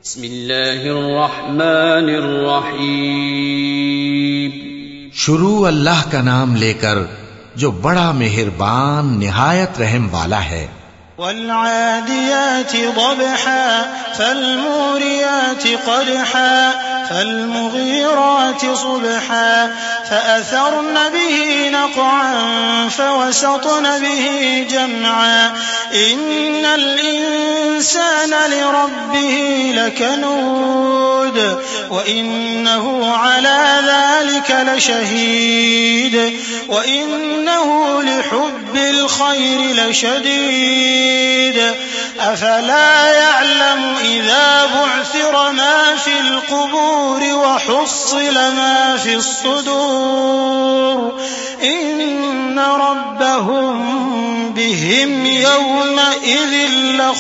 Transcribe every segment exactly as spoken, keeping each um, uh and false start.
बिस्मिल्लाहिर्रहमानिर्रहीम। शुरू अल्लाह का नाम लेकर जो बड़ा मेहरबान निहायत रहम वाला है। वल्आदियाति ज़बहा फल्मूरियाति क़दहा फल्मुग़ीराति सुबहा फ़अथरन बिही नक़अन फ़वसतन बिही जमअन इन्नल इंसान लिरब्बिही लकनूद व इन्नहु अला ज़ालिक लशहीद व इन्नहु लिहुब्बिल खैरि लशदीद अफला यअलमु इज़ा बु'थिर मा फ़िल क़ुबूर व हुस्सिल मा फ़िस सुदूर इन्न रब्बहुम बिहिम यौमइज़िन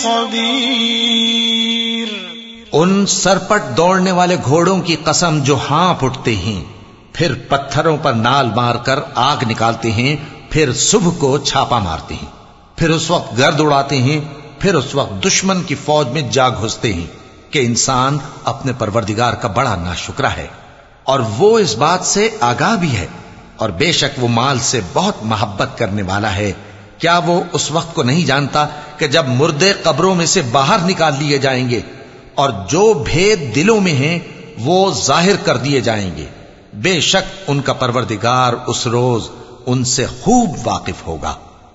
लख़बीर। उन सरपट दौड़ने वाले घोड़ों की कसम जो हाँफ उठते हैं, फिर पत्थरों पर नाल मारकर आग निकालते हैं, फिर सुबह को छापा मारते हैं, फिर उस वक्त गर्द उड़ाते हैं, फिर उस वक्त दुश्मन की फौज में जा घुसते हैं कि इंसान अपने परवरदिगार का बड़ा नाशुक्रा है और वो इस बात से आगाह भी है, और बेशक वो माल से बहुत मोहब्बत करने वाला है। क्या वो उस वक्त को नहीं जानता कि जब मुर्दे कब्रों में से बाहर निकाल लिए जाएंगे और जो भेद दिलों में हैं वो जाहिर कर दिए जाएंगे। बेशक उनका परवरदिगार उस रोज उनसे खूब वाकिफ होगा।